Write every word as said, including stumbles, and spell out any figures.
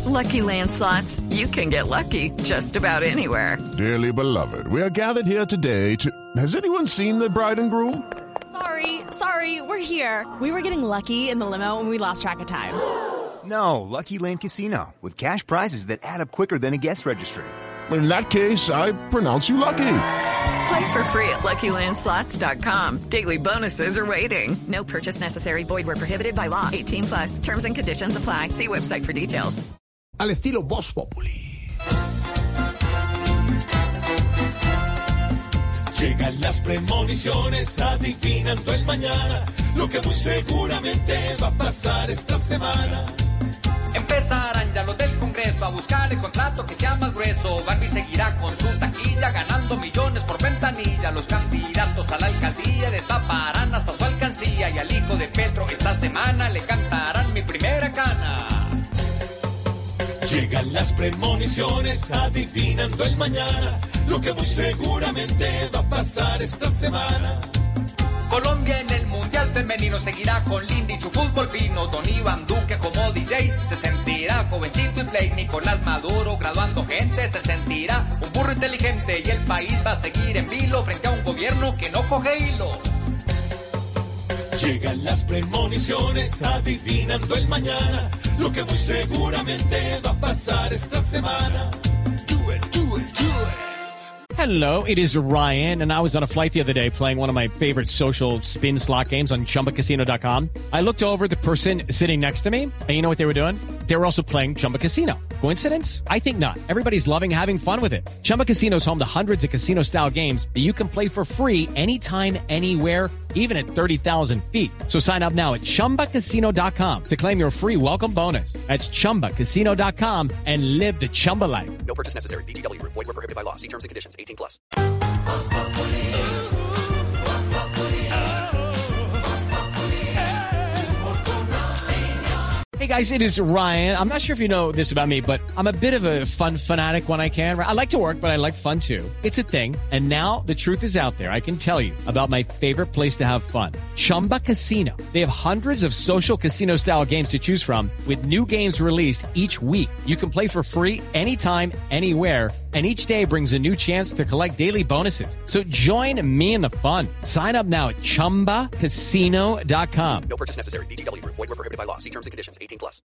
Lucky Land Slots, you can get lucky just about anywhere. Dearly beloved, we are gathered here today to... Has anyone seen the bride and groom? Sorry, sorry, we're here. We were getting lucky in the limo and we lost track of time. No, Lucky Land Casino, with cash prizes that add up quicker than a guest registry. In that case, I pronounce you lucky. Play for free at Lucky Land Slots dot com. Daily bonuses are waiting. No purchase necessary. Void where prohibited by law. eighteen plus. Terms and conditions apply. See website for details. Al estilo Voz Populi. Llegan las premoniciones adivinando el mañana, lo que muy seguramente va a pasar esta semana. Empezarán ya los del Congreso a buscar el contrato que sea más grueso. Barbie seguirá con su taquilla ganando millones por ventanilla. Los candidatos a la alcaldía destaparán hasta su alcancía. Y al hijo de Petro esta semana le cantarán Mi Primera Cana. Llegan las premoniciones adivinando el mañana, lo que muy seguramente va a pasar esta semana. Colombia en el Mundial Femenino seguirá con Lindy y su fútbol fino. Don Iván Duque como D J se sentirá jovencito y play. Nicolás Maduro graduando gente se sentirá un burro inteligente. Y el país va a seguir en vilo frente a un gobierno que no coge hilo. Llegan las premoniciones adivinando el mañana, lo que muy seguramente va a pasar esta semana. Do it, do it, do it. Hello, it is Ryan, and I was on a flight the other day playing one of my favorite social spin slot games on Chumba Casino dot com. I looked over at the person sitting next to me, and you know what they were doing? They were also playing Chumba Casino. Coincidence? I think not. Everybody's loving having fun with it. Chumba Casino is home to hundreds of casino-style games that you can play for free anytime, anywhere, even at thirty thousand feet. So sign up now at Chumba Casino dot com to claim your free welcome bonus. That's Chumba Casino dot com and live the Chumba life. No purchase necessary. V G W. Void where prohibited by law. See terms and conditions. eighteen plus. Hey guys, it is Ryan. I'm not sure if you know this about me, but I'm a bit of a fun fanatic when I can. I like to work, but I like fun too. It's a thing. And now the truth is out there. I can tell you about my favorite place to have fun. Chumba Casino. They have hundreds of social casino style games to choose from with new games released each week. You can play for free anytime, anywhere. And each day brings a new chance to collect daily bonuses. So join me in the fun. Sign up now at Chumba Casino dot com. No purchase necessary. V G W. Void where prohibited by law. See terms and conditions. eighteen plus.